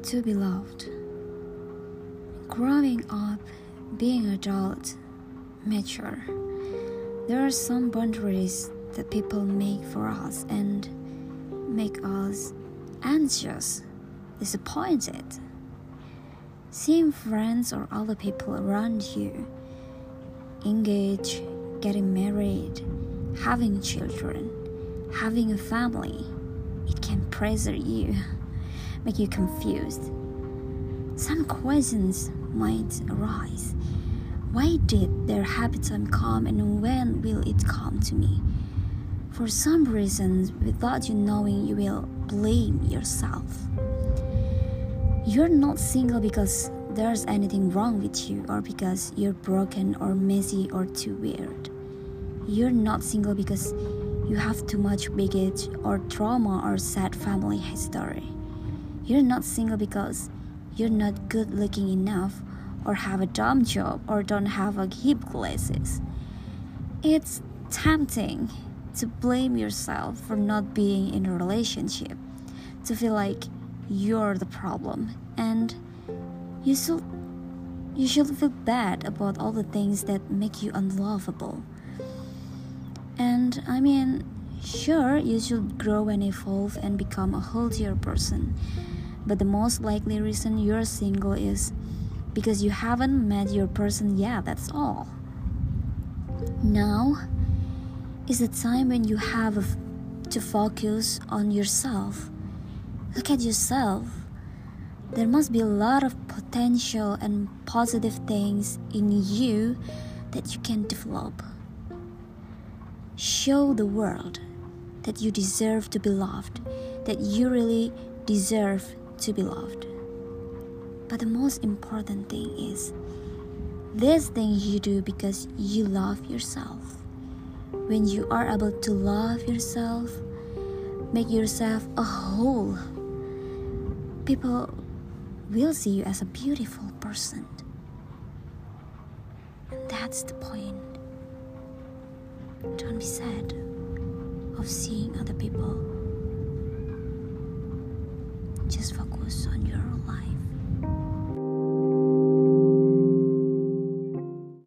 to be loved. Growing up, being adult, mature, there are some boundaries that people make for us and make us anxious, disappointed. Seeing friends or other people around you engage, getting married, having children, having a family, it can pressure you, make you confused. Some questions might arise. Why did their happy time come, and when will it come to me? For some reasons, without you knowing, you will blame yourself. You're not single because there's anything wrong with you, or because you're broken or messy or too weird. You're not single because you have too much baggage or trauma or sad family history. You're not single because you're not good looking enough, or have a dumb job, or don't have a hip glasses. It's tempting to blame yourself for not being in a relationship, to feel like you're the problem, and you should feel bad about all the things that make you unlovable. And sure, you should grow and evolve and become a healthier person, but the most likely reason you're single is because you haven't met your person yet, that's all. Now is the time when you have to focus on yourself. Look at yourself. There must be a lot of potential and positive things in you that you can develop. Show the world that you deserve to be loved, that you really deserve to be loved. But the most important thing is, this thing you do because you love yourself. When you are able to love yourself, make yourself a whole, people will see you as a beautiful person. And that's the point. Don't be sad of seeing other people. Just focus on your life.